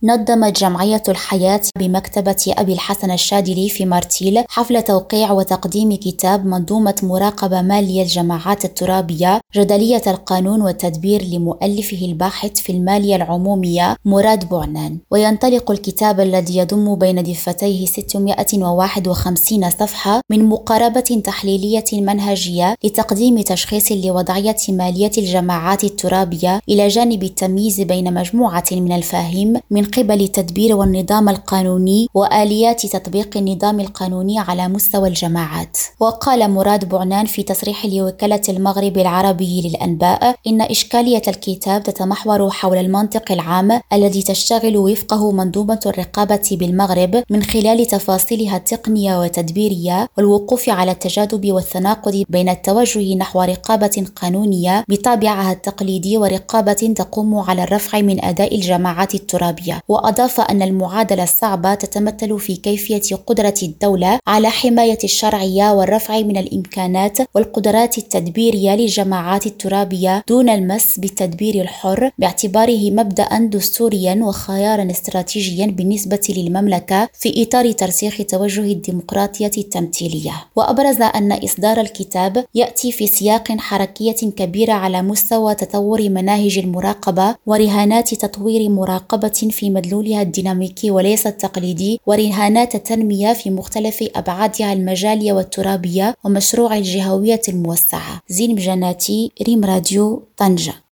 نظمت جمعية الحياة بمكتبة أبي الحسن الشاذلي في مرتيل حفل توقيع وتقديم كتاب منظومة مراقبة مالية الجماعات الترابية جدلية القانون والتدبير لمؤلفه الباحث في المالية العمومية مراد بعنان. وينطلق الكتاب الذي يضم بين دفتيه 651 صفحة من مقاربة تحليلية منهجية لتقديم تشخيص لوضعية مالية الجماعات الترابية إلى جانب التمييز بين مجموعة من المفاهيم من قبل التدبير والنظام القانوني وآليات تطبيق النظام القانوني على مستوى الجماعات. وقال مراد بعنان في تصريح لوكالة المغرب العربي للأنباء إن إشكالية الكتاب تتمحور حول المنطق العام الذي تشتغل وفقه منظومة الرقابة بالمغرب من خلال تفاصيلها التقنية والتدبيرية، والوقوف على التجاذب والتناقض بين التوجه نحو رقابة قانونية بطابعها التقليدي ورقابة تقوم على الرفع من أداء الجماعات الترابية. وأضاف أن المعادلة الصعبة تتمثل في كيفية قدرة الدولة على حماية الشرعية والرفع من الإمكانات والقدرات التدبيرية للجماعات الترابية دون المس بالتدبير الحر باعتباره مبدأ دستوريا وخيارا استراتيجيا بالنسبة للمملكة في إطار ترسيخ توجه الديمقراطية التمثيلية. وأبرز أن إصدار الكتاب يأتي في سياق حركية كبيرة على مستوى تطور مناهج المراقبة ورهانات تطوير مراقبة في مدلولها الديناميكي وليس التقليدي، ورهانات التنمية في مختلف أبعادها المجالية والترابية، ومشروع الجهوية الموسعة. زين بجناتي، ريم راديو، طنجة.